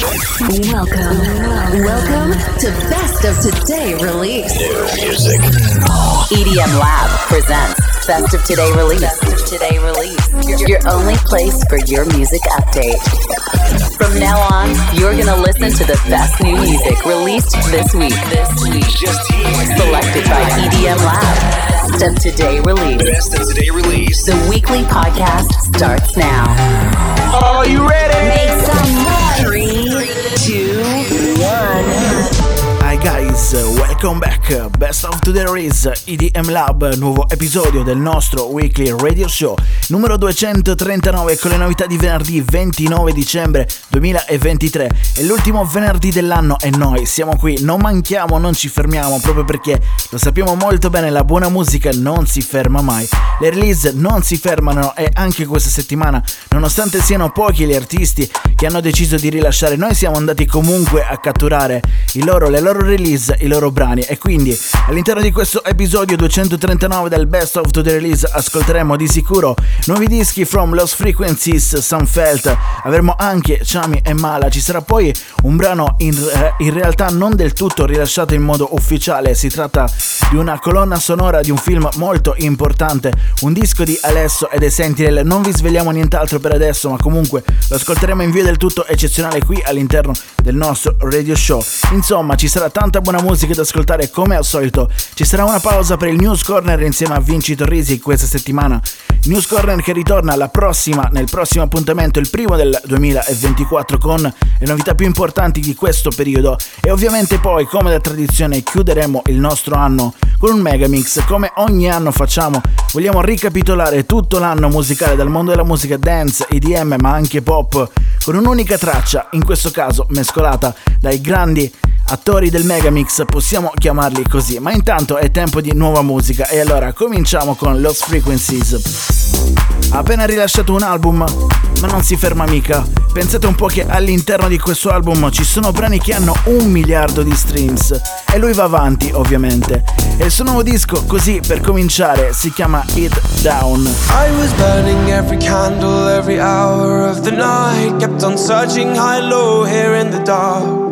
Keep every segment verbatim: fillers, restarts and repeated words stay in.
Welcome, welcome to Best of Today Release. New music. E D M Lab presents Best of Today Release. Best of Today Release. Your only place for your music update. From now on, you're gonna listen to the best new music released this week. This week, Just here. selected by E D M Lab. Best of Today Release. Best of Today Release. The weekly podcast starts now. Are you ready? Make some noise. Three, two, one. Hi guys, welcome back. Best of Today Release, E D M Lab, nuovo episodio del nostro weekly radio show numero duecentotrentanove con le novità di venerdì ventinove dicembre duemilaventitré. È l'ultimo venerdì dell'anno e noi siamo qui, non manchiamo, non ci fermiamo, proprio perché lo sappiamo molto bene, la buona musica non si ferma mai. Le release non si fermano e anche questa settimana, nonostante siano pochi gli artisti che hanno deciso di rilasciare, noi siamo andati comunque a catturare i loro, le loro release, i loro brani, e quindi all'interno di questo episodio duecentotrentanove del Best of the Release ascolteremo di sicuro nuovi dischi from Lost Frequencies, Sunfelt, avremo anche Chami e Mala, ci sarà poi un brano in, in realtà non del tutto rilasciato in modo ufficiale, si tratta di una colonna sonora di un film molto importante, un disco di Alesso ed Essential. Non vi svegliamo nient'altro per adesso, ma comunque lo ascolteremo in via del tutto eccezionale qui all'interno del nostro radio show. Insomma, ci sarà tanta buona musica da ascoltare come al solito. Ci sarà una pausa per il News Corner insieme a Vinci Torrisi questa settimana. News Corner che ritorna alla prossima, nel prossimo appuntamento, il primo del duemilaventiquattro, con le novità più importanti di questo periodo. E ovviamente poi, come da tradizione, chiuderemo il nostro anno con un megamix. Come ogni anno facciamo, vogliamo ricapitolare tutto l'anno musicale dal mondo della musica dance, E D M ma anche pop, con un'unica traccia, in questo caso mescolata dai grandi attori del Megamix, possiamo chiamarli così. Ma intanto è tempo di nuova musica e allora cominciamo con Lost Frequencies. Ha appena rilasciato un album, ma non si ferma mica. Pensate un po' che all'interno di questo album ci sono brani che hanno un miliardo di streams e lui va avanti, ovviamente. E il suo nuovo disco, così per cominciare, si chiama It Down. I was burning every candle, every hour of the night. Kept on searching high, low, here in the dark.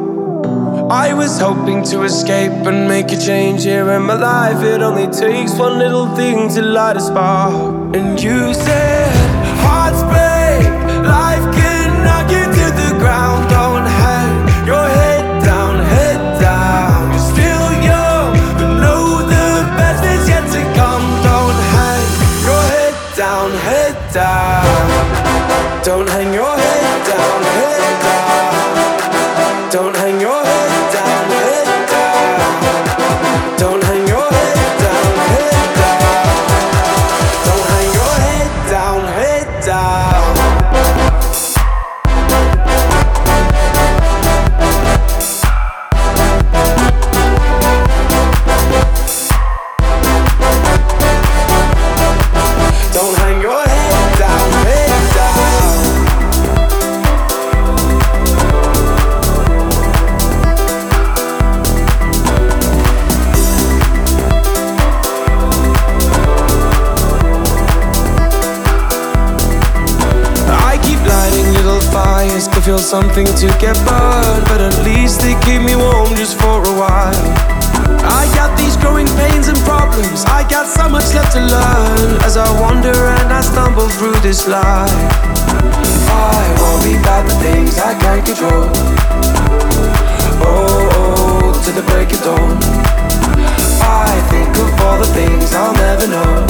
I was hoping to escape and make a change here in my life. It only takes one little thing to light a spark. And you said, hearts break, life can knock you to the ground. Don't hang your head down, head down. You're still young, but know the best is yet to come. Don't hang your head down, head down. Don't hang your head down, head down. Don't hang your head. Feel something to get burned, but at least they keep me warm just for a while. I got these growing pains and problems, I got so much left to learn as I wander and I stumble through this life. I worry about the things I can't control. Oh, oh, to the break of dawn. I think of all the things I'll never know.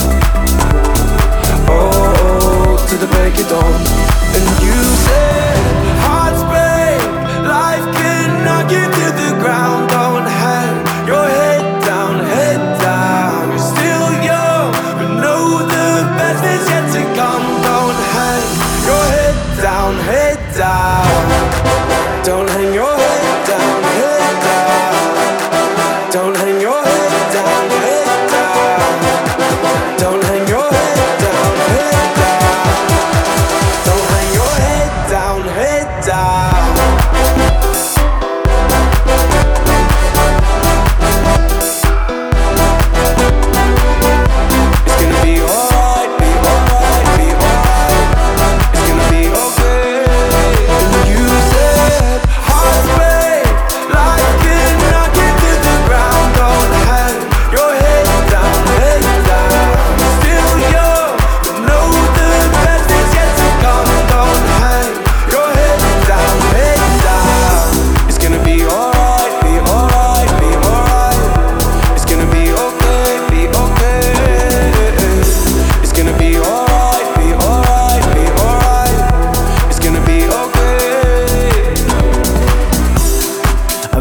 Oh, oh, to the break of dawn. And you said, hearts break, life can knock you to the ground. Don't hang your head down, head down. You're still young, but know the best is yet to come. Don't hang your head down, head down. Don't hang your head down, head down. Don't hang your head down, head down. Don't hang your head down, head down. Don't hang your head down, head down.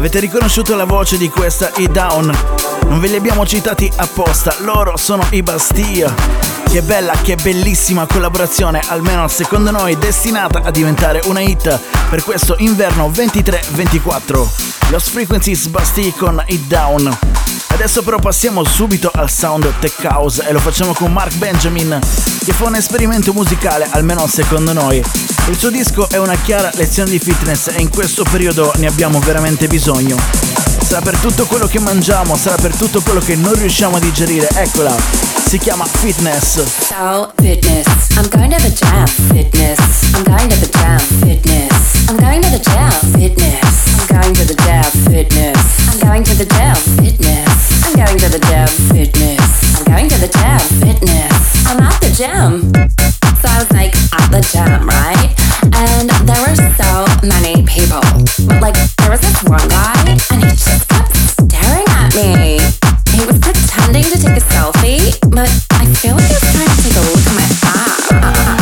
Avete riconosciuto la voce di questa E Down? Non ve li abbiamo citati apposta, loro sono i Bastille. Che bella, che bellissima collaborazione, almeno secondo noi destinata a diventare una hit per questo inverno ventitré ventiquattro. Lost Frequencies, Bastille con It Down. Adesso però passiamo subito al sound tech house e lo facciamo con Mark Benjamin, che fa un esperimento musicale, almeno secondo noi. Il suo disco è una chiara lezione di fitness e in questo periodo ne abbiamo veramente bisogno. Sarà per tutto quello che mangiamo, sarà per tutto quello che non riusciamo a digerire, eccola, si chiama Fitness. So, fitness, I'm going to the gym, fitness, I'm going to the gym, fitness, I'm going to the gym, fitness, I'm going to the gym, fitness, I'm going to the gym, fitness, I'm going to the gym, fitness, I'm going to the gym, fitness, I'm at the gym. So I was like at the gym, right? And there were so many people. But like there was this one guy and he just kept staring at me. He was pretending to take a selfie, but I feel like he was trying to take a look at my ass.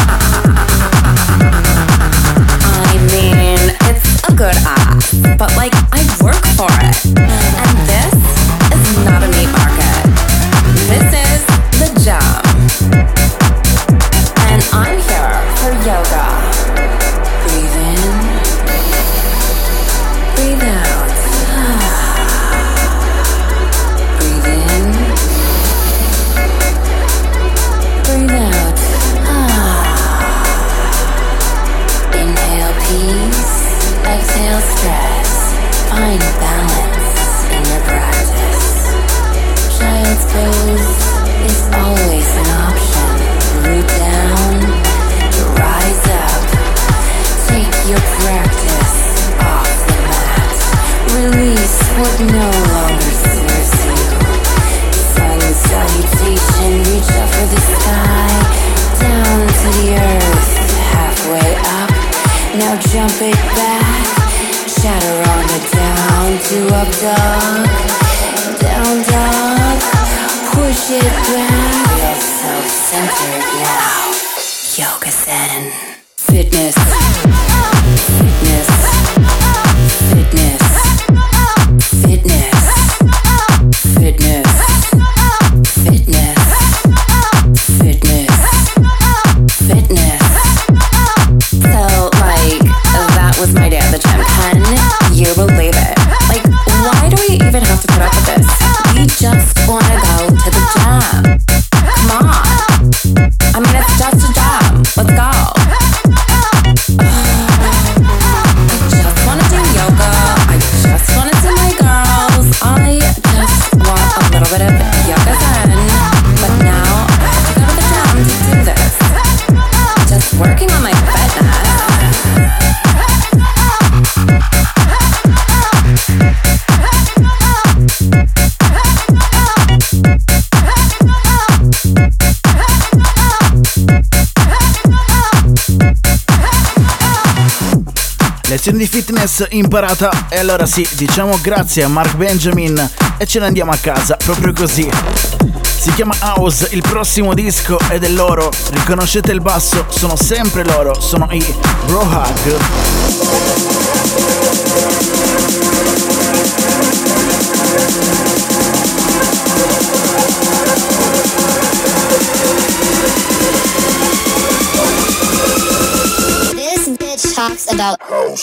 I mean, it's a good ass, but like I work for it. And this is not a meat market. This is the gym. And I'm here for yoga. Breathe in, breathe out. Breathe in, breathe out. Inhale peace, exhale stress. Find balance in your practice. Child's pose is always an option. Root down, rise up. Take your practice off the mat. Release what no longer serves you. Sun salutation, reach up for the sky. Down to the earth, halfway up. Now jump it back. Shatter on the down to up dog. Down dog, push it back. Feel self-centered now. Yoga Zen. Fitness. Fitness. Fitness. Fitness. Fitness. Fitness. Fitness. Fitness. So, like, that was my day at the gym. Can you believe it? Like, why do we even have to put up with this? We just wanna go to the gym. Come on. I mean, it's just a gym. Let's go. I just wanna do yoga. I just wanna see my girls. I just want a little bit of yoga zen. But now I have to go to the gym to do this. Just working on my fitness. Lezione di fitness imparata e allora sì, diciamo grazie a Mark Benjamin e ce ne andiamo a casa, proprio così. Si chiama House, il prossimo disco è del loro, riconoscete il basso, sono sempre loro, sono i Bro Hug. Talks about house.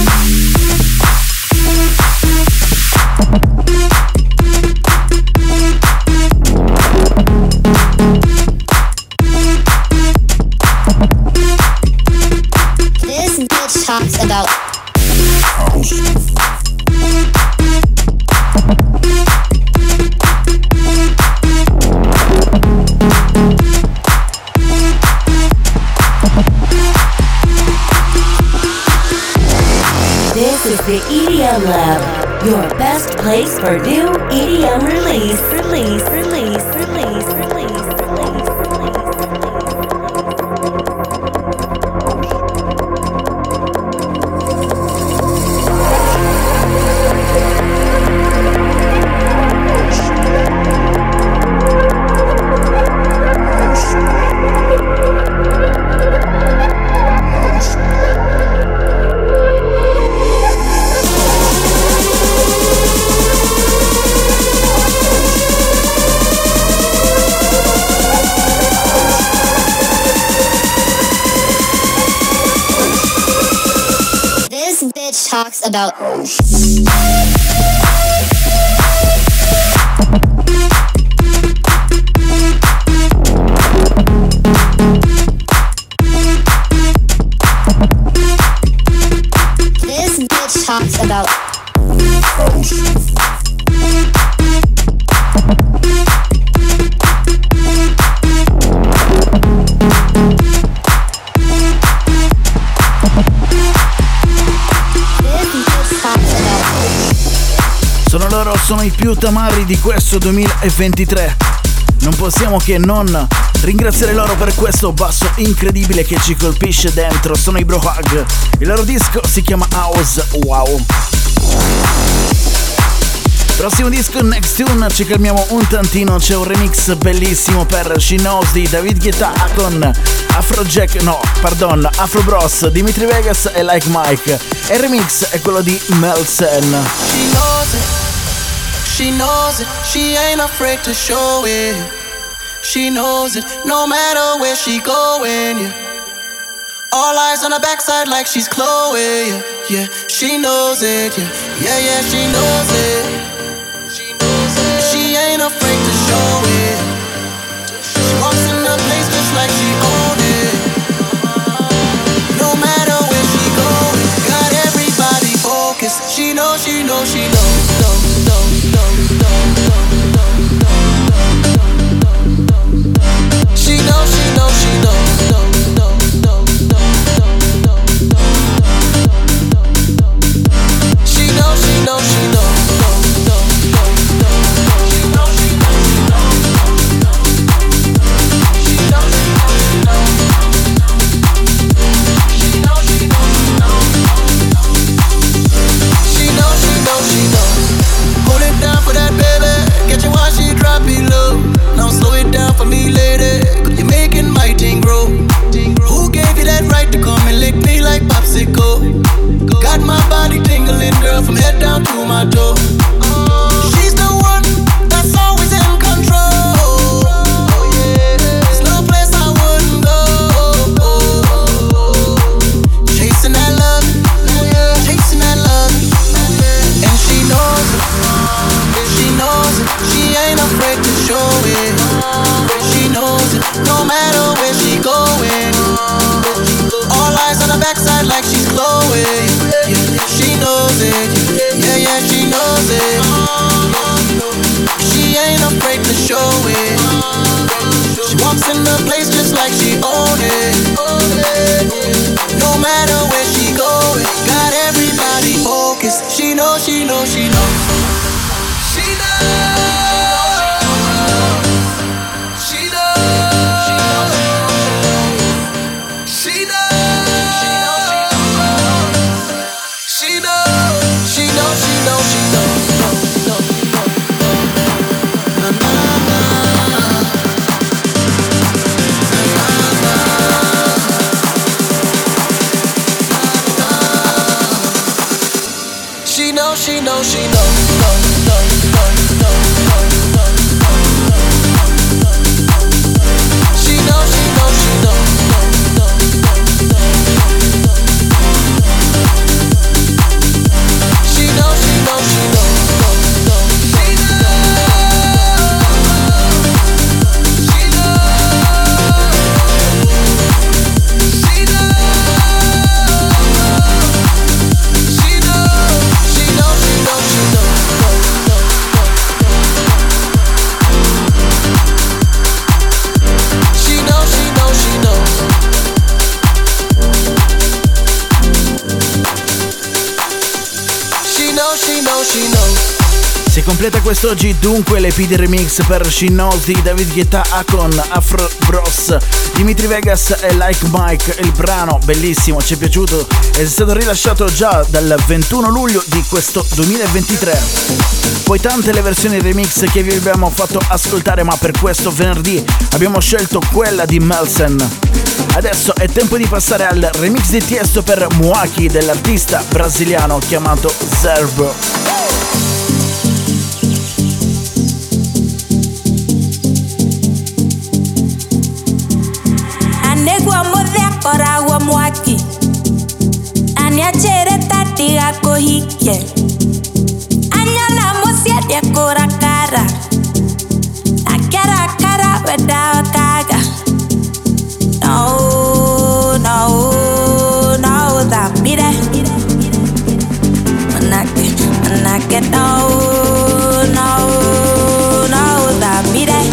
This bitch talks about house. This is the E D M Lab, your best place for new E D M release, release, release, release, release, release, talks about house. This bitch talks about house. Sono loro, sono i più tamarri di questo duemilaventitré. Non possiamo che non ringraziare loro per questo basso incredibile che ci colpisce dentro. Sono i Bro Hug. Il loro disco si chiama House. Wow. Prossimo disco, Next Tune, ci calmiamo un tantino. C'è un remix bellissimo per She Knows di David Guetta con Afrojack, no, pardon, Afro Bros, Dimitri Vegas e Like Mike. E il remix è quello di Melson. She knows it, she knows it, she ain't afraid to show it. She knows it, no matter where she going, yeah. All eyes on her backside like she's Chloe, yeah, yeah. She knows it, yeah, yeah, yeah, she knows it. She ain't afraid to show it. She walks in the place just like she own it. No matter where she goes, got everybody focused. She knows, she knows, she knows, knows, knows, knows, knows, knows, knows. She knows, she knows, she knows, knows, knows, knows, knows, knows. She knows, she knows, she knows. Got my body tingling, girl, from head down to my toe. She's the one that's always in control. There's no place I wouldn't go. Chasing that love, chasing that love. And she knows it, she knows it. She ain't afraid to show it. She knows it, no matter where she going. All eyes on her backside like she's Chloe. Yeah, she knows it. Yeah, yeah, she knows it. She ain't afraid to show it. She walks in the place just like she own it. No matter where she going, got everybody focused. She knows, she knows, she knows. She knows. She knows, she knows, knows, knows, knows, knows, knows, knows. She knows, she knows, she knows, knows, knows, knows, knows. She knows, she knows, she knows, knows, knows, knows. She Si completa quest'oggi dunque l'E P di remix per She Knows di David Guetta con Afro Bros, Dimitri Vegas e Like Mike. Il brano bellissimo, ci è piaciuto, è stato rilasciato già dal ventuno luglio di questo duemilaventitré. Poi tante le versioni remix che vi abbiamo fatto ascoltare, ma per questo venerdì abbiamo scelto quella di Melson. Adesso è tempo di passare al remix di Tiesto per Muaki dell'artista brasiliano chiamato Zerbo. Anegua modé para agua Muaki. Ania chere tati ako hike. Anya na musiet ya kura kara. Akara kara weda kaga. No, no, no, that be that. Manake, manake, no, no, no, that be that.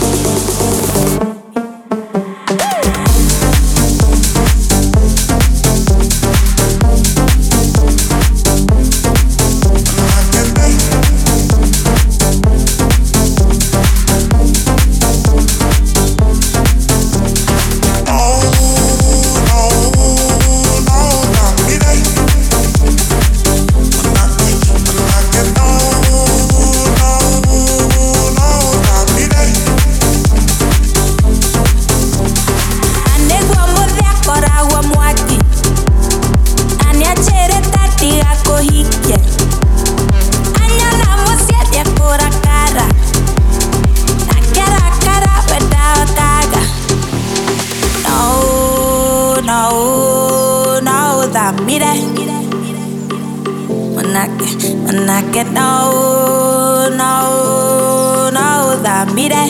No, no, no, that me that.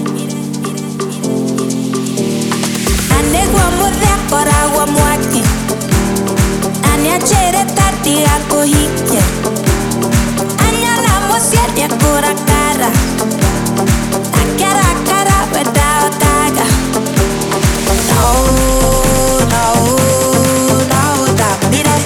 Ane guamo de akora guamo aki. Ane chere tati ako hike. Anya na mosia de akora kara. Akara kara weda kaga. No, no, no, that me that.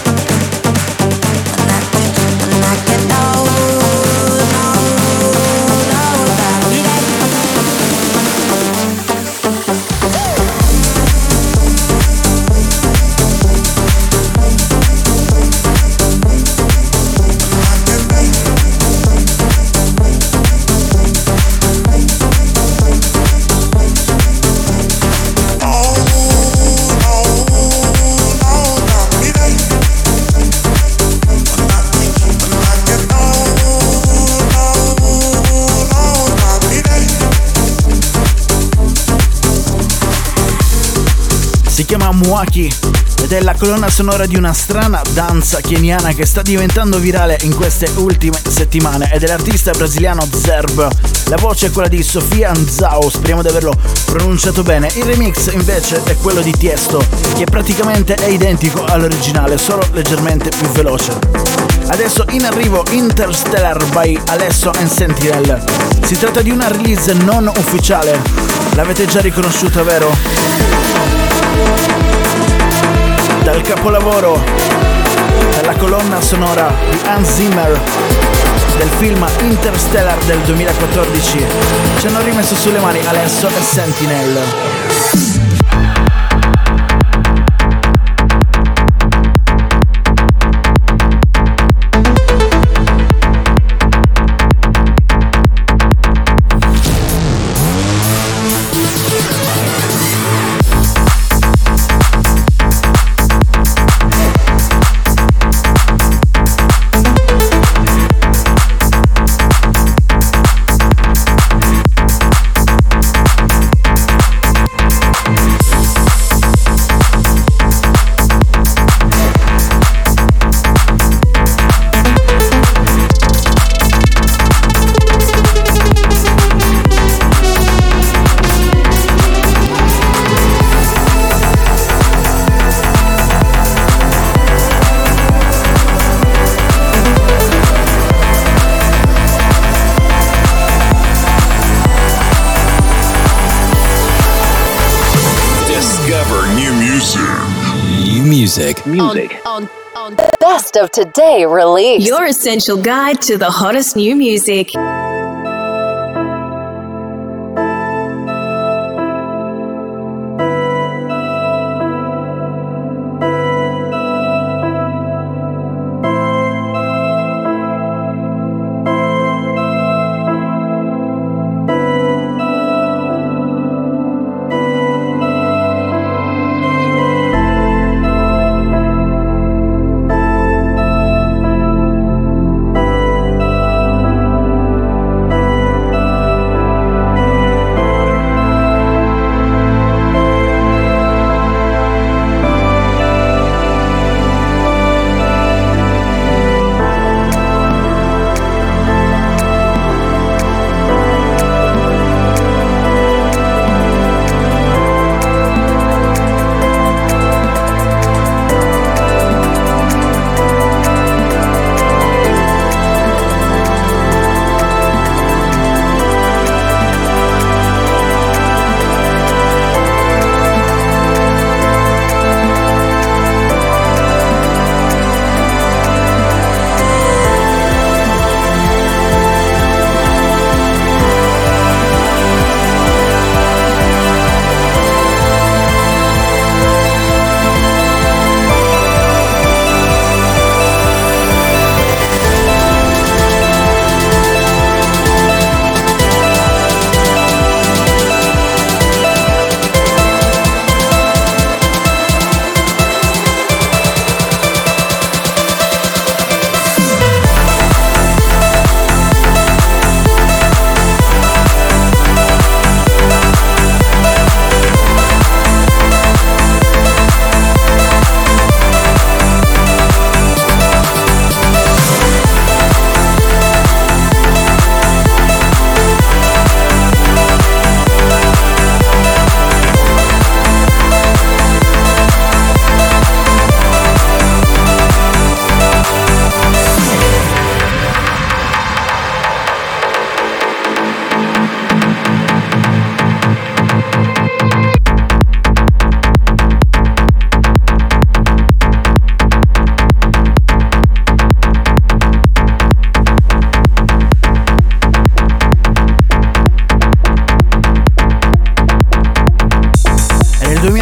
Si chiama Mwaki ed è la colonna sonora di una strana danza keniana che sta diventando virale in queste ultime settimane ed è l'artista brasiliano Zerb. La voce è quella di Sofia Nzao, speriamo di averlo pronunciato bene. Il remix invece è quello di Tiesto, che praticamente è identico all'originale, solo leggermente più veloce. Adesso in arrivo Interstellar by Alesso and Sentinel. Si tratta di una release non ufficiale, l'avete già riconosciuta, vero? Dal capolavoro, dalla colonna sonora di Hans Zimmer del film Interstellar del duemilaquattordici, ci hanno rimesso sulle mani Alesso e Sentinel. Music. Music. On, on, on Best of Today Release. Your essential guide to the hottest new music.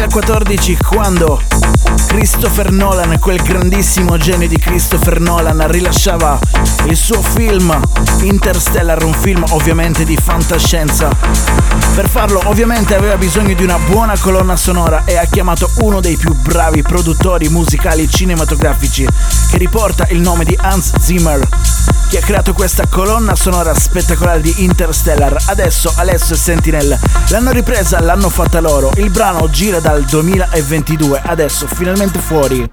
duemilaquattordici, quando Christopher Nolan, quel grandissimo genio di Christopher Nolan, rilasciava il suo film Interstellar, un film ovviamente di fantascienza. Per farlo ovviamente aveva bisogno di una buona colonna sonora e ha chiamato uno dei più bravi produttori musicali cinematografici, che riporta il nome di Hans Zimmer, che ha creato questa colonna sonora spettacolare di Interstellar. Adesso Alesso e Sentinel l'hanno ripresa, l'hanno fatta loro. Il brano gira dal duemilaventidue, adesso finalmente fuori.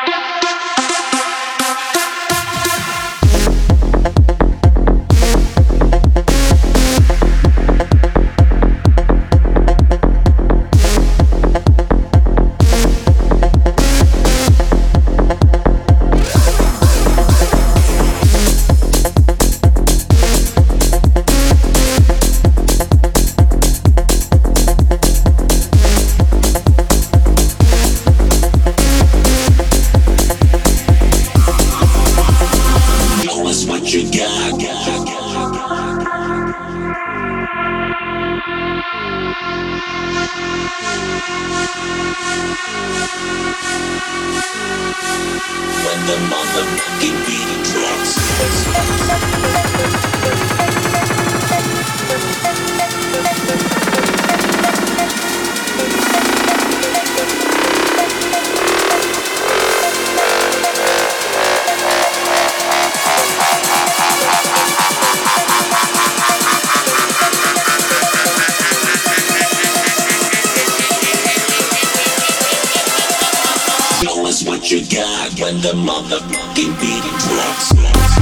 The motherfucking beating drops.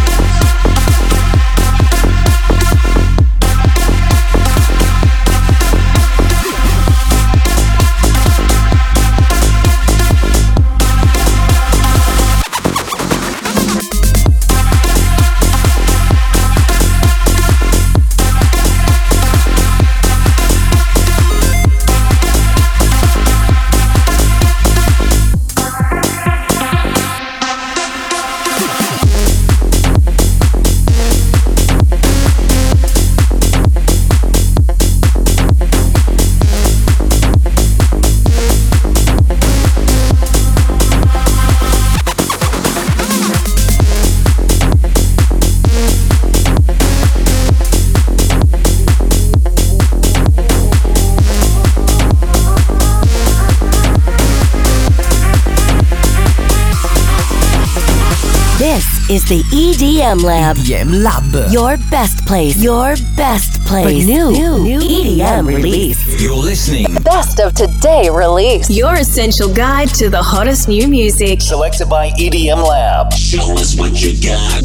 Is the E D M Lab. E D M Lab. Your best place. Your best place. For new, new, new E D M release. You're listening. Best of today release. Your essential guide to the hottest new music. Selected by E D M Lab. Show us what you got.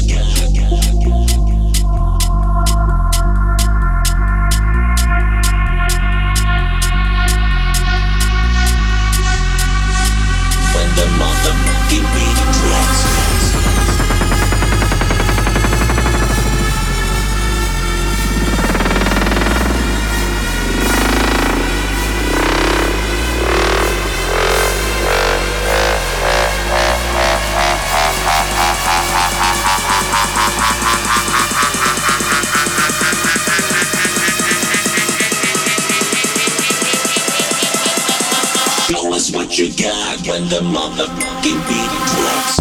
When the motherfucking beat drops. Show us what you got when the motherfucking beat drops.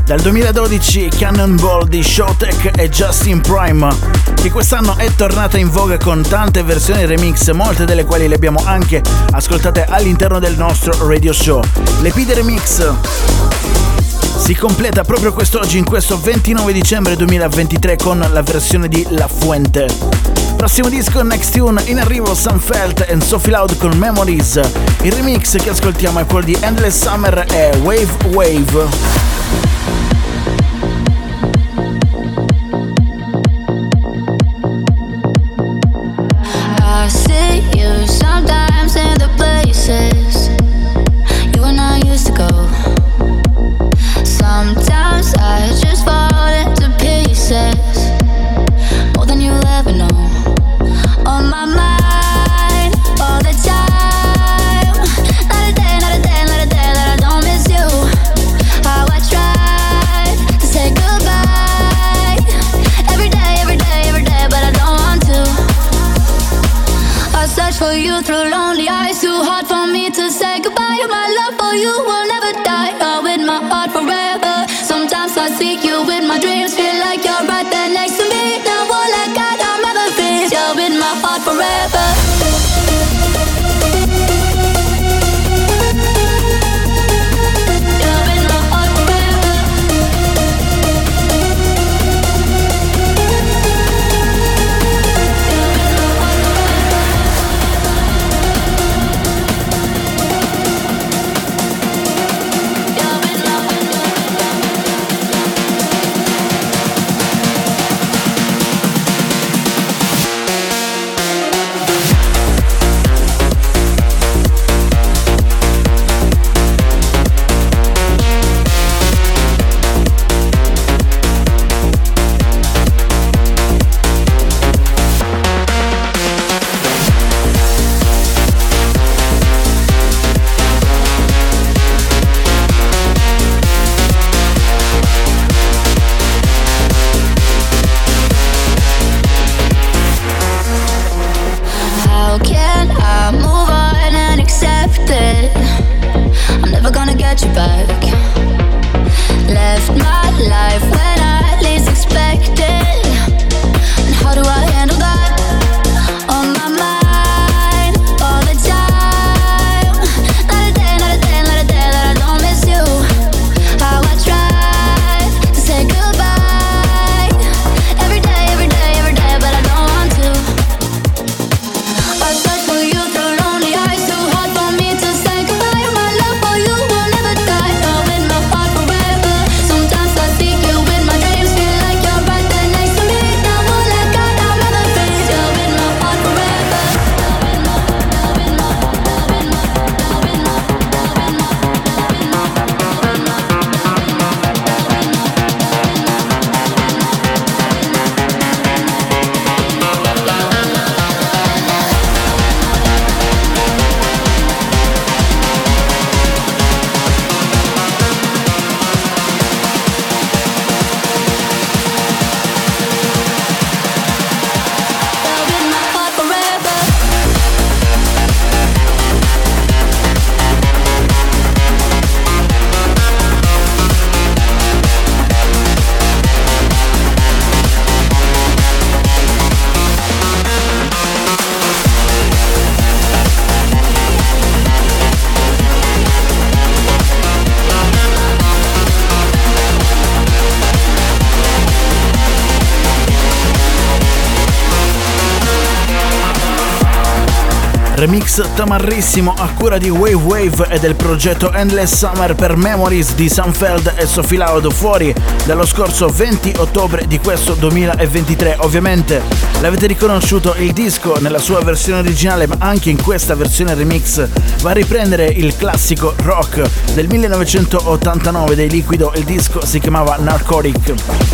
Dal duemiladodici Cannonball di Showtek e Justin Prime, che quest'anno è tornata in voga con tante versioni remix, molte delle quali le abbiamo anche ascoltate all'interno del nostro radio show. L'E P di remix si completa proprio quest'oggi, in questo ventinove dicembre duemilaventitré, con la versione di La Fuente. Prossimo disco, Next Tune, in arrivo Sam Felt e Sophie Loud con Memories. Il remix che ascoltiamo è quello di Endless Summer e Wave Wave. Sometimes in the places you and I used to go. Sometimes I just fall into pieces, more than you'll ever know. On my mind all the time. Not a day, not a day, not a day that I don't miss you. How I try to say goodbye every day, every day, every day, but I don't want to. I search for you through lonely eyes, too hard for me to say goodbye. My love for you will never die, oh, with my heart forever. Sometimes I see you in my dreams, feel like you're right there next to me. Now all I got are memories, you're in my heart forever. Remix tamarrissimo a cura di Wave Wave e del progetto Endless Summer per Memories di Sunfeld e Sophie Loud, fuori dallo scorso venti ottobre di questo duemilaventitré. Ovviamente l'avete riconosciuto, il disco nella sua versione originale, ma anche in questa versione remix va a riprendere il classico rock del millenovecentottantanove dei Liquido. Il disco si chiamava Narcotic.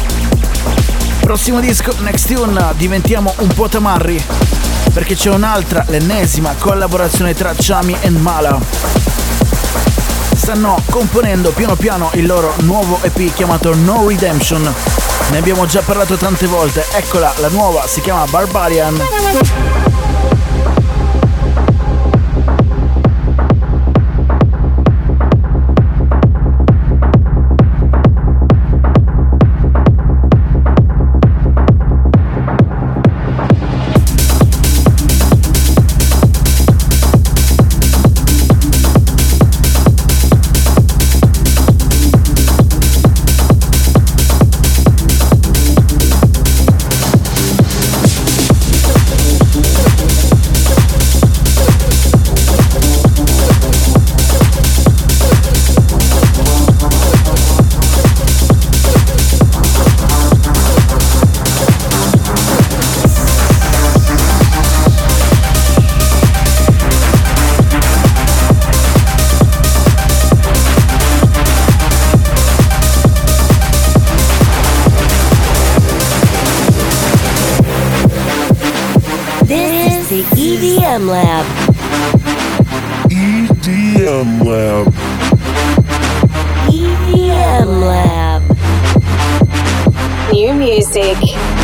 Prossimo disco, Next Tune, diventiamo un po' tamarri perché c'è un'altra, l'ennesima collaborazione tra Chami e Mala. Stanno componendo piano piano il loro nuovo E P chiamato No Redemption. Ne abbiamo già parlato tante volte, eccola la nuova, si chiama Barbarian. M Lab. E D M Lab. E D M Lab. New music.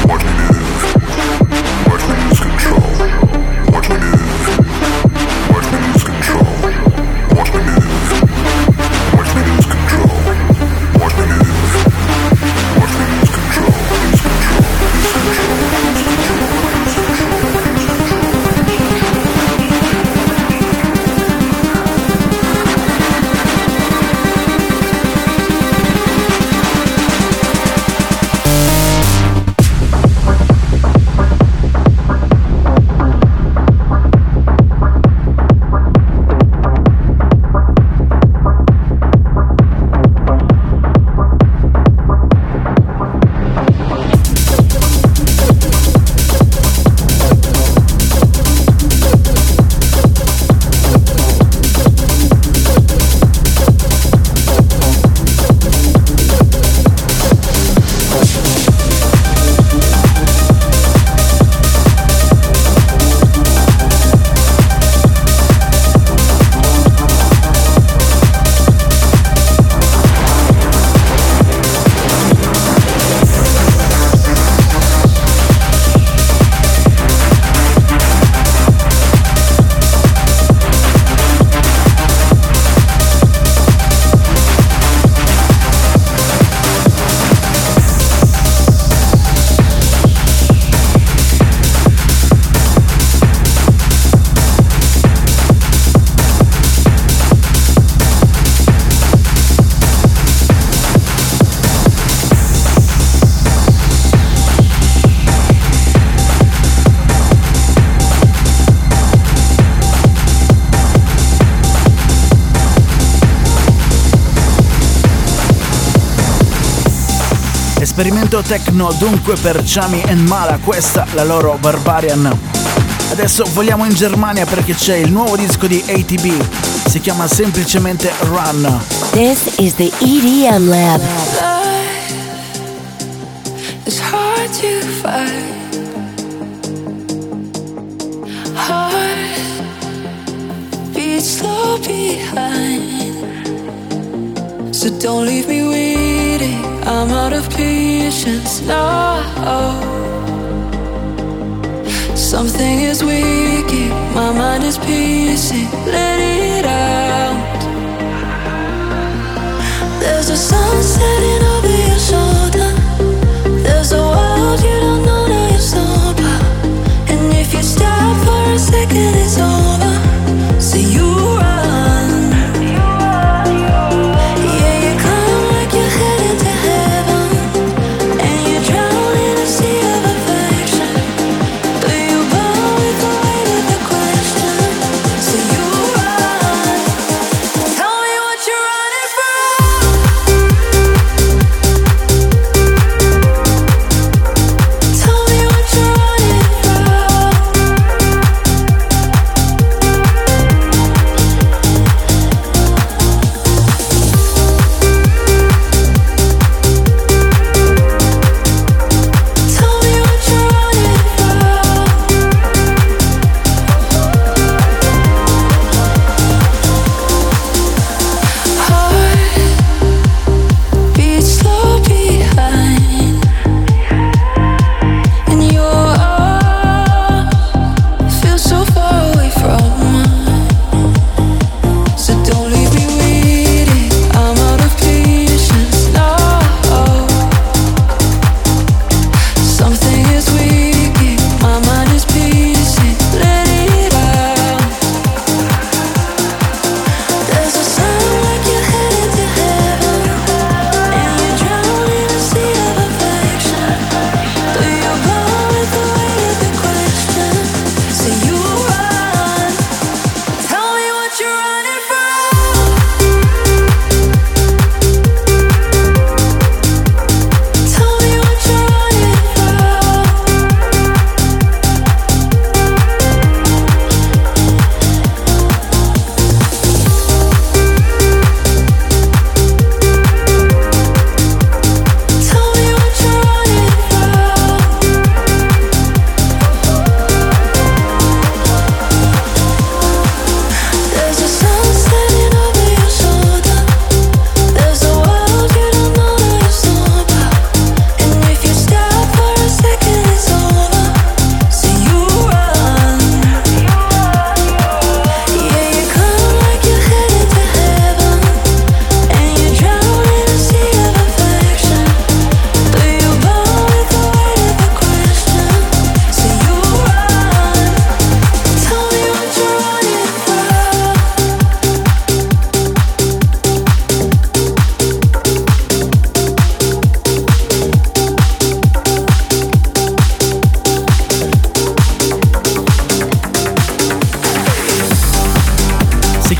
Esperimento techno dunque per Chami and Mala, questa la loro Barbarian. Adesso vogliamo in Germania perché c'è il nuovo disco di A T B, si chiama semplicemente Run. This is the E D M Lab. It's hard to find. Heart beats slow behind. So don't leave me waiting. I'm out of patience now. Something is waking, my mind is pacing. Let it out. There's a sun setting over your shoulder. There's a world you don't know now you're sober. And if you stop for a second, it's over. So you run. Yeah, you come like you're heading to heaven. And you drown in a sea of affection. But you bow with the weight of the question. So you run. Tell me what you're running from.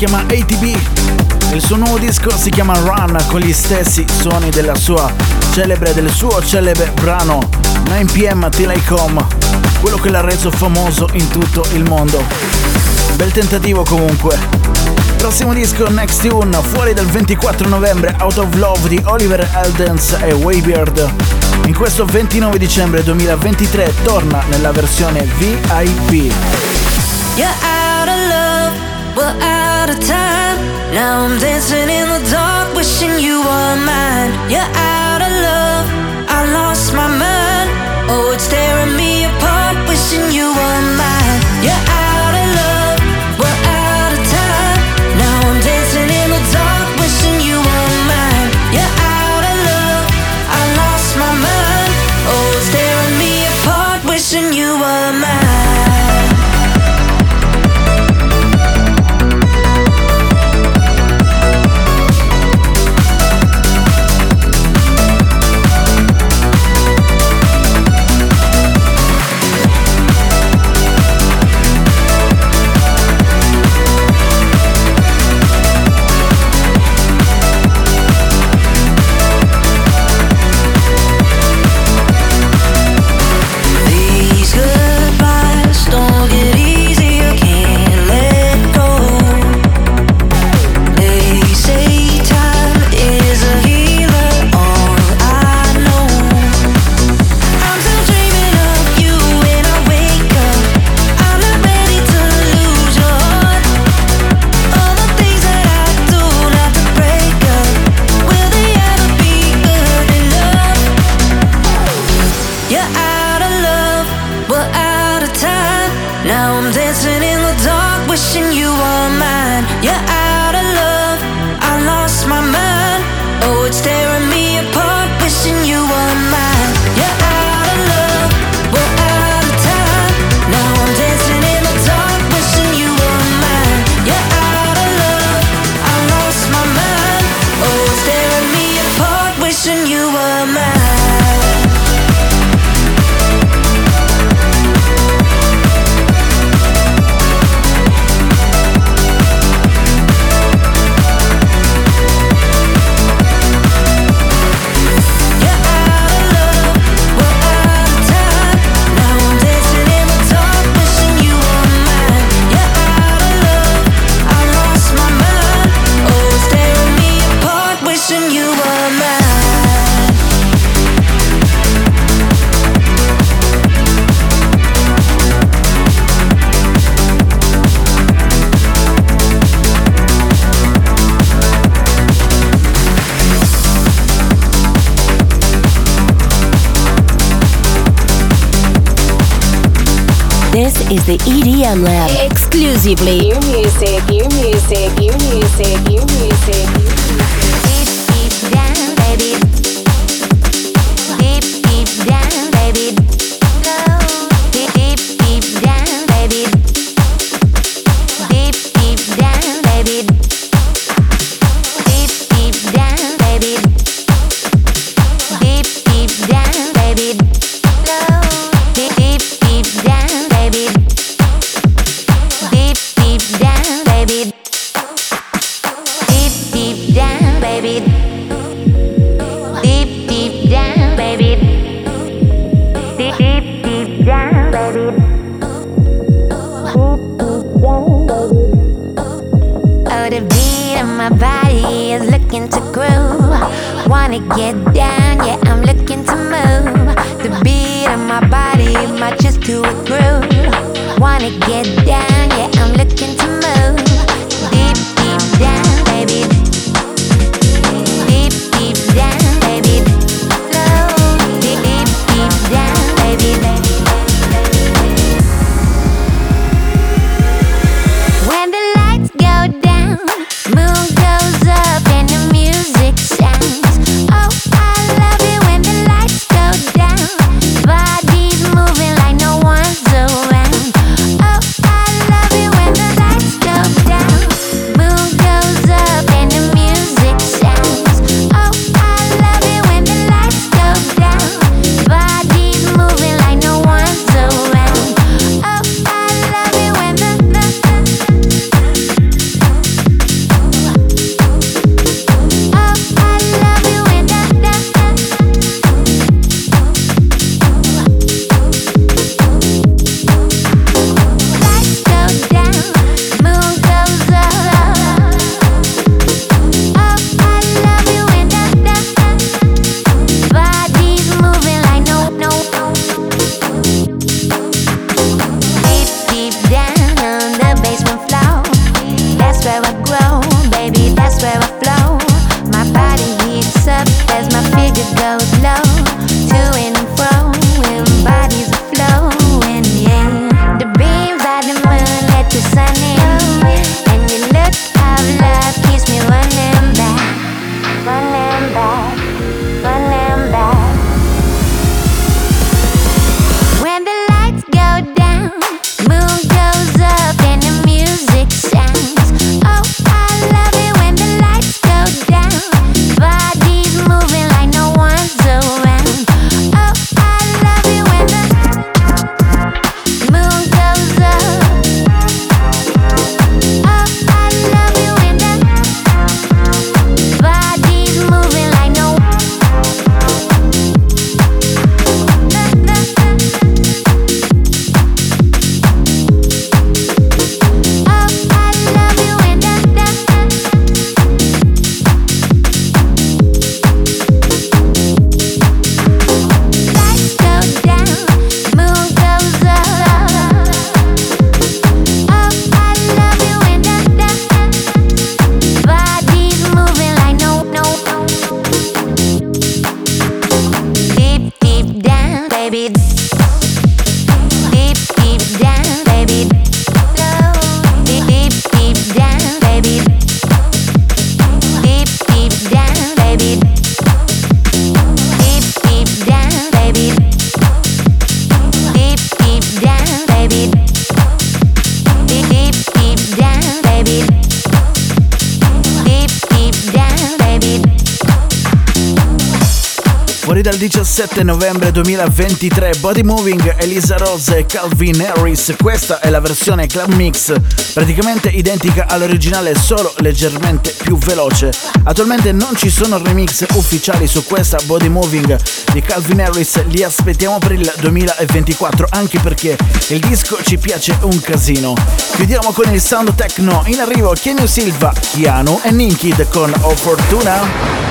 chiama A T B. Il suo nuovo disco si chiama Run, con gli stessi suoni della sua celebre, del suo celebre brano nine p m Till I Come, quello che l'ha reso famoso in tutto il mondo. Bel tentativo comunque. Prossimo disco, Next Tune, fuori dal ventiquattro novembre, Out of Love di Oliver Heldens e Waybeard. In questo ventinove dicembre duemilaventitré torna nella versione V I P. You're out of love, we're out of time. Now I'm dancing in the dark, wishing you were mine. You're out of love, I lost my mind. Oh, it's tearing me apart, wishing you were mine. You're out of love, we're out of time. Now I'm dancing in the dark, wishing you were mine. You're out of love, I lost my mind. Oh, it's tearing me apart, wishing you were mine. This is the E D M Lab. Exclusively your music, your music, your music, your music. Deep, deep down, baby. Deep, deep down, baby. Deep, deep, deep down, baby. Deep, deep down, baby. Deep, deep down, baby. Deep, deep down, baby. Deep, deep, deep down, baby. Deep, deep down, baby. Deep, deep down, baby. Deep, deep down, baby. Deep, deep, deep down, baby. Oh, the beat of my body is looking to groove. Wanna get down, yeah, I'm looking to move. The beat of my body matches to a groove. Wanna get down, yeah, I'm looking to move. Deep, deep down, baby. Deep, deep down, baby. Low, deep, deep, deep down, baby. When the lights go down, moon goes up and the music sounds. Oh, I love it when the lights go baby. Deep, deep down, baby. Deep, deep, deep down, baby. Deep, deep down, baby. Deep, deep down, baby. Deep, deep down, baby. Deep, deep, deep down, baby. Deep, deep down, baby. Fuori dal diciassette novembre duemilaventitré, Body Moving, Elisa Rose e Calvin Harris. Questa è la versione club mix, praticamente identica all'originale, solo leggermente più veloce. Attualmente non ci sono remix ufficiali su questa Body Moving di Calvin Harris, li aspettiamo per il duemilaventiquattro, anche perché il disco ci piace un casino. Chiudiamo con il sound techno, in arrivo Kenny Silva, Keanu e Ninkid con Oh Fortuna.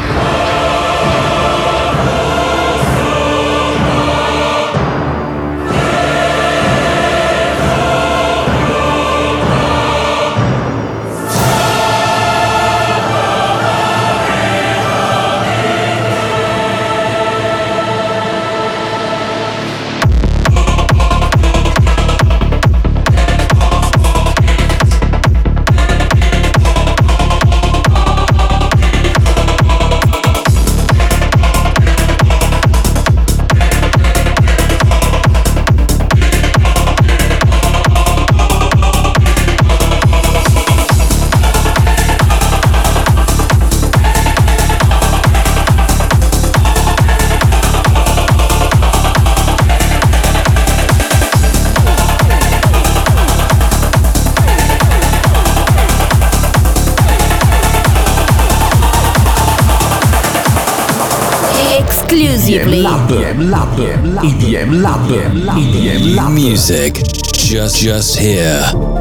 Exclusively E D M Lab, E D M Lab, E D M Lab music just just here.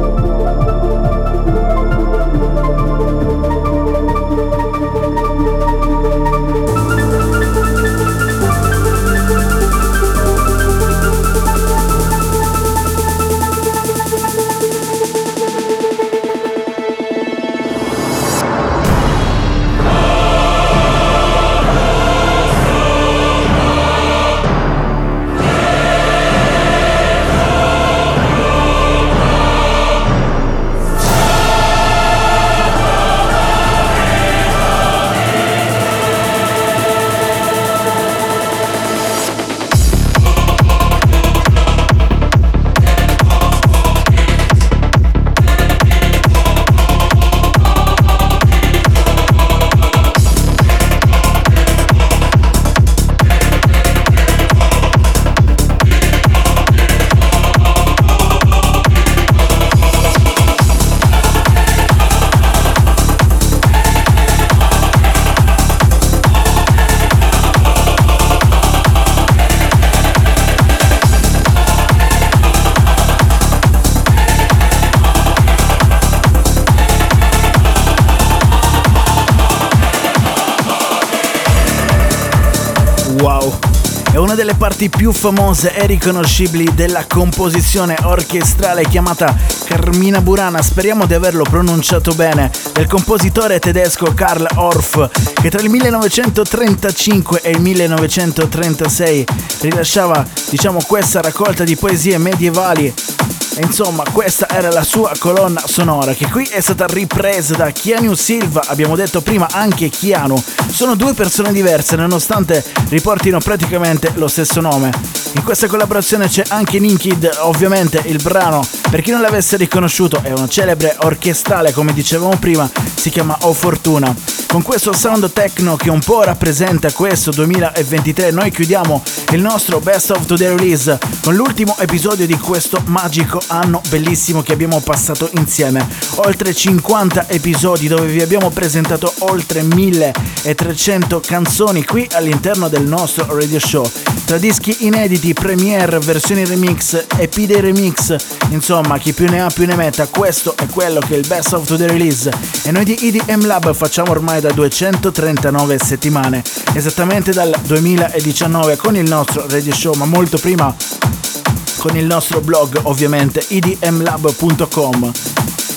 Wow, è una delle parti più famose e riconoscibili della composizione orchestrale chiamata Carmina Burana, speriamo di averlo pronunciato bene, del compositore tedesco Karl Orff, che tra il millenovecentotrentacinque e il millenovecentotrentasei rilasciava, diciamo, questa raccolta di poesie medievali. E insomma, questa era la sua colonna sonora, che qui è stata ripresa da Keanu Silva, abbiamo detto prima anche Keanu. Sono due persone diverse nonostante riportino praticamente lo stesso nome. In questa collaborazione c'è anche Ninkid, ovviamente il brano, per chi non l'avesse riconosciuto, è una celebre orchestrale, come dicevamo prima, si chiama Oh Fortuna. Con questo sound techno che un po' rappresenta questo duemilaventitré, noi chiudiamo il nostro Best of Today Release con l'ultimo episodio di questo magico anno bellissimo che abbiamo passato insieme. Oltre cinquanta episodi dove vi abbiamo presentato oltre milletrecento canzoni qui all'interno del nostro radio show, tra dischi inediti, premiere, versioni remix, E P dei remix, insomma chi più ne ha più ne metta. Questo è quello che è il Best of Today Release e noi di E D M Lab facciamo ormai da duecentotrentanove settimane, esattamente dal duemiladiciannove con il nostro radio show, ma molto prima con il nostro blog, ovviamente, e d m lab punto com.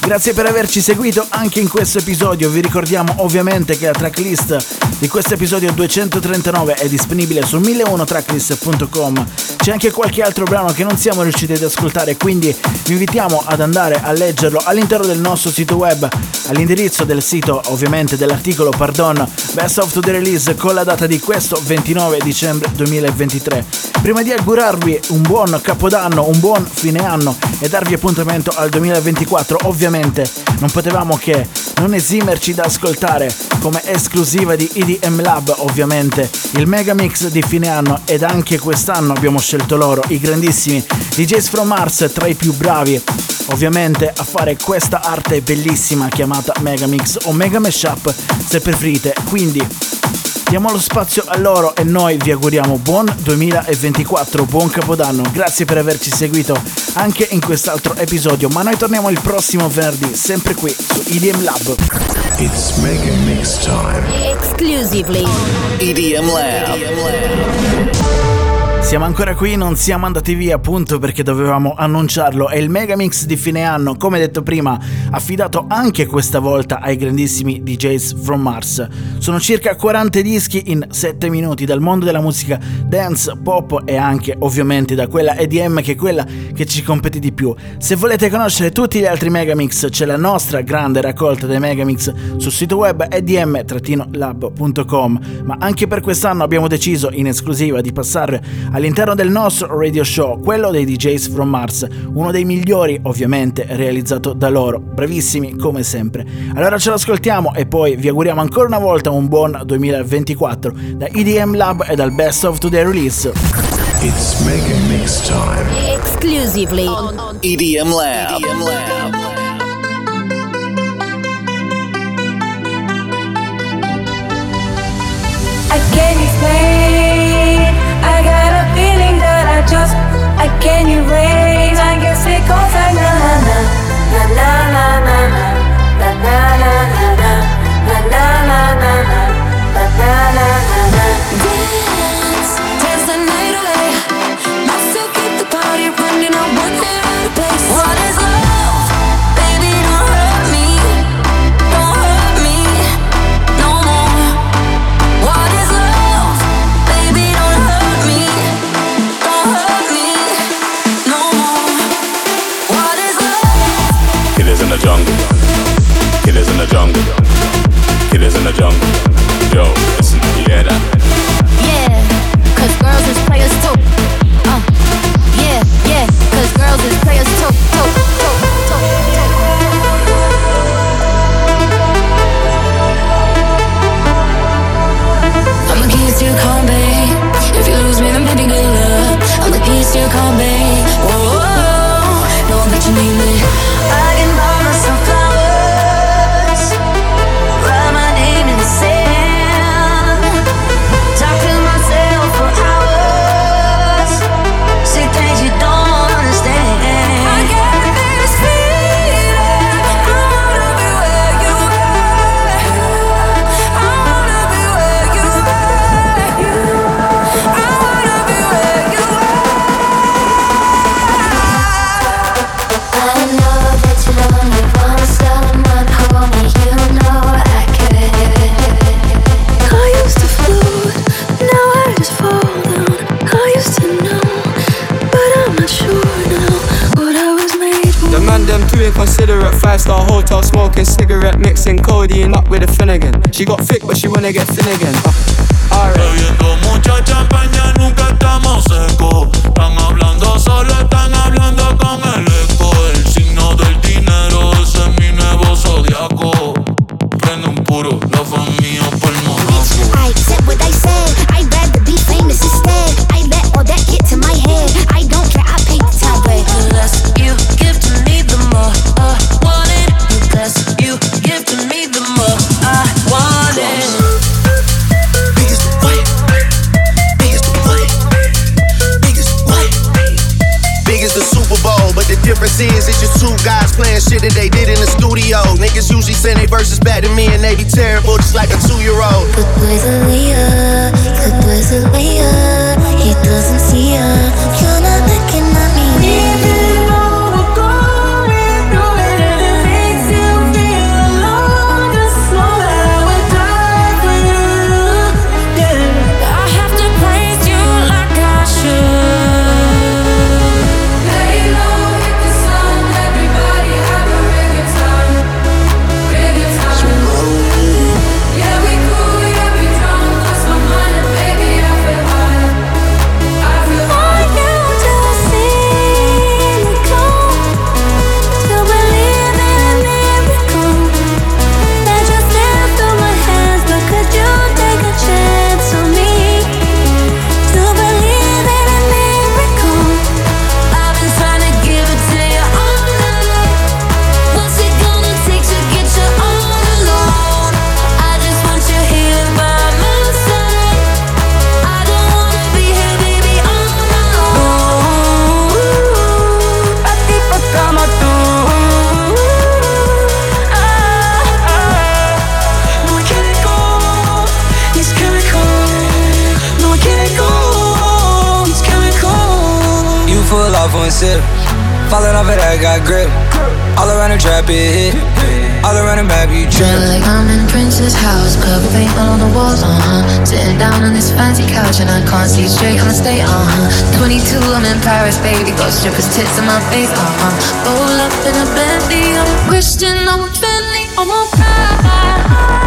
Grazie per averci seguito anche in questo episodio. Vi ricordiamo ovviamente che la tracklist di questo episodio duecentotrentanove è disponibile su mille uno tracklist punto com. C'è anche qualche altro brano che non siamo riusciti ad ascoltare, quindi vi invitiamo ad andare a leggerlo all'interno del nostro sito web, all'indirizzo del sito, ovviamente dell'articolo, pardon, Best of the Release, con la data di questo ventinove dicembre duemilaventitré. Prima di augurarvi un buon capodanno, un buon fine anno e darvi appuntamento al duemilaventiquattro, ovviamente non potevamo che non esimerci da ascoltare come esclusiva di E D M Lab, ovviamente il mega mix di fine anno, ed anche quest'anno abbiamo scelto loro, i grandissimi D Js from Mars, tra i più bravi ovviamente a fare questa arte bellissima chiamata Megamix o Mega Mashup se preferite. Quindi diamo lo spazio a loro e noi vi auguriamo buon duemilaventiquattro, buon capodanno. Grazie per averci seguito anche in quest'altro episodio, ma noi torniamo il prossimo venerdì sempre qui su E D M Lab. It's Mega Mix time. Exclusively E D M Lab. Siamo ancora qui, non siamo andati via appunto perché dovevamo annunciarlo. È il Megamix di fine anno, come detto prima, affidato anche questa volta ai grandissimi D Js from Mars. Sono circa quaranta dischi in sette minuti dal mondo della musica dance, pop e anche ovviamente da quella E D M che è quella che ci compete di più. Se volete conoscere tutti gli altri Megamix c'è la nostra grande raccolta dei Megamix sul sito web e d m lab punto com, ma anche per quest'anno abbiamo deciso in esclusiva di passare all'interno del nostro radio show quello dei D Js from Mars, uno dei migliori ovviamente realizzato da loro, bravissimi come sempre. Allora ce lo ascoltiamo e poi vi auguriamo ancora una volta un buon duemilaventiquattro da E D M Lab e dal Best of Today Release. It's Mega Mix time. exclusively on E D M Lab. E D M Lab. I can't explain. I got a feeling that I just I can't erase. I guess it goes like na na na na na na na na na na na na na na na na na. Dance, dance the night away. Myself keep the party running. I want it out of place. What is love? Baby, don't hurt me. Don't hurt me no more. What is love? Baby, don't hurt me. Don't hurt me no more. What is love? Killers in the jungle. Killers in the jungle. Killers in the jungle. Yo, listen, you hear that? Yeah, cause girls is players too. Uh, yeah, yeah, cause girls is players too. too, too, too, too. I'm the keys to your car, babe. If you lose me, then baby, good luck. I'm the keys to your car, babe. Whoa, whoa, know that you need me. I can buy myself flowers, write my name in the sand, talk to myself for hours, say things you don't understand. I got this feeling, I wanna be where you are. I wanna be where you are. I wanna be where you are. I know that you only want someone, homie, you know I could. I used to float, now I just fall down. I used to know, but I'm not sure now what I was made for. The man them too inconsiderate. Five star hotel smoking cigarette, mixing codeine up with a Finnegan. She got thick but she wanna get thin again. Uh, alright. Bebiendo mucha champaña, nunca estamos secos. Están hablando solo, están hablando con el eco. El signo del dinero, ese es mi nuevo zodiaco. Prende un puro, la familia por el Monaco. I said what I said. I'd rather be famous instead. I let all that get to my head. I don't care, I paid the tab. The less you give to me, the more I want it. The less you give to me, the more I want it. Biggest the fight, biggest the fight, biggest off one sip. Falling off it, I got grip. All around the trap, it hit. All around the map, you trip. Feel like I'm in Prince's house, purple paint all on the walls, uh-huh. Sitting down on this fancy couch and I can't see straight, I'ma stay, uh-huh. twenty-two, I'm in Paris, baby, got strippers' tits in my face, uh-huh. Roll up in a Bentley, I'm a Christian, I'm a Bentley, I'm a pride.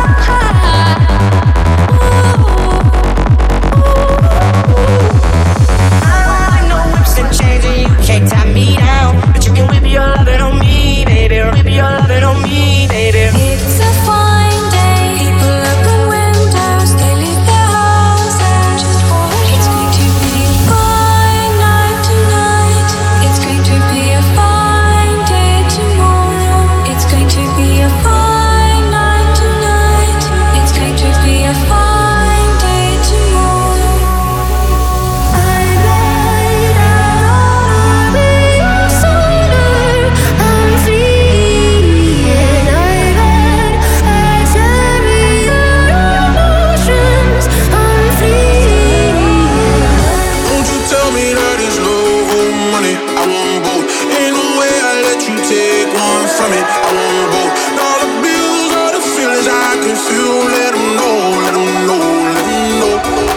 I know whips and chains and you can't tie me down, but you can whip your lovin' on me, baby. Whip your lovin' on me, baby. It's a fine day, people open windows, they leave their houses. Just walk. It's going to be a fine night tonight. It's going to be a fine day tomorrow. It's going to be a fine night tonight. It's going to be a fine day tomorrow. I light out all summer. I'm free and I let I carry your emotions. I'm free. Won't you tell me that it's love or money? I want both. Ain't no way I let you take one from me. I want both. All the bills, all the feelings I can feel. Let them know, let them know, let them know.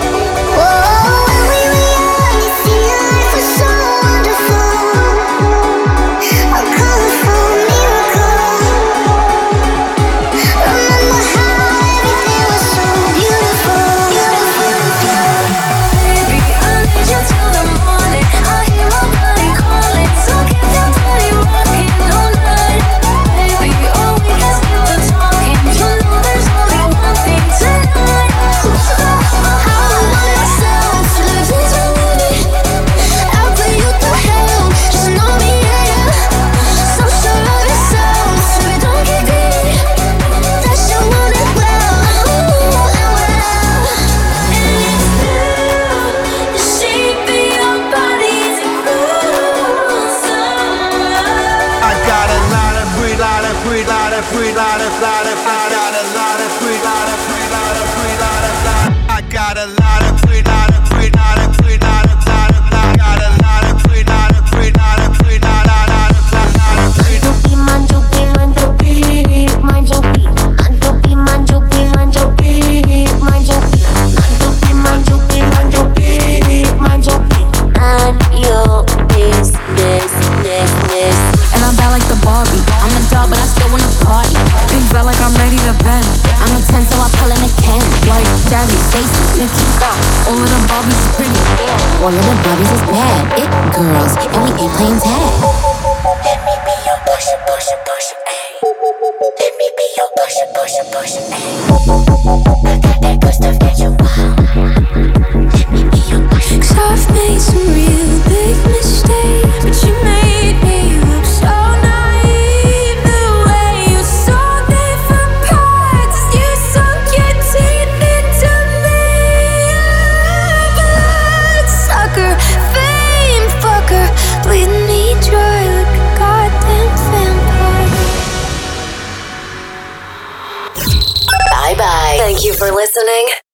All of the Barbies is bad, it girls, and we ain't playing tag. Let me be your pusher, pusher, pusher, ayy. Let me be your pusher, pusher, pusher, ayy. I got that good stuff that you want. Let me be your pusher. 'Cause I've made some real big mistakes, but you made me look so naive. The way you saw different parts, you sunk your teeth into me. Bloodsucker, fame fucker, bleeding me dry like a goddamn vampire. Bye bye. Thank you for listening.